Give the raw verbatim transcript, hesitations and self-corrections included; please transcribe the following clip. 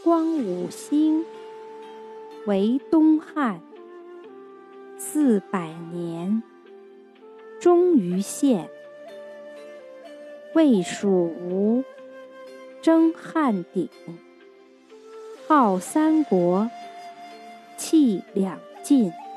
光五星，为东汉。四百年，终于现。魏蜀吴，争汉鼎。号三国，气两晋。